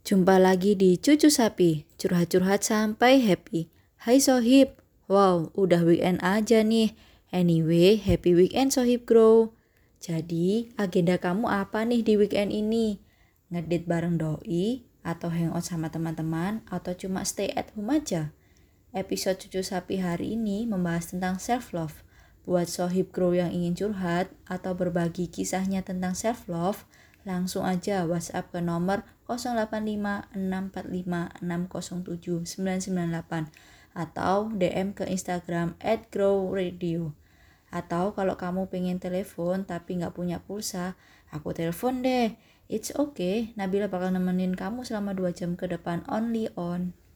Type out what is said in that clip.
Jumpa lagi di Cucu Sapi, curhat-curhat sampai happy. Hai Sohib, wow udah weekend aja nih. Anyway, happy weekend Sohib Grow. Jadi, agenda kamu apa nih di weekend ini? Ngedate bareng doi, atau hangout sama teman-teman, atau cuma stay at home aja? Episode Cucu Sapi hari ini membahas tentang self-love. Buat Sohib Grow yang ingin curhat atau berbagi kisahnya tentang self-love, langsung aja WhatsApp ke nomor 085645607998 atau DM ke Instagram @growradio. Atau kalau kamu pengen telepon tapi nggak punya pulsa, aku telepon deh. It's okay, Nabila bakal nemenin kamu selama 2 jam ke depan only on.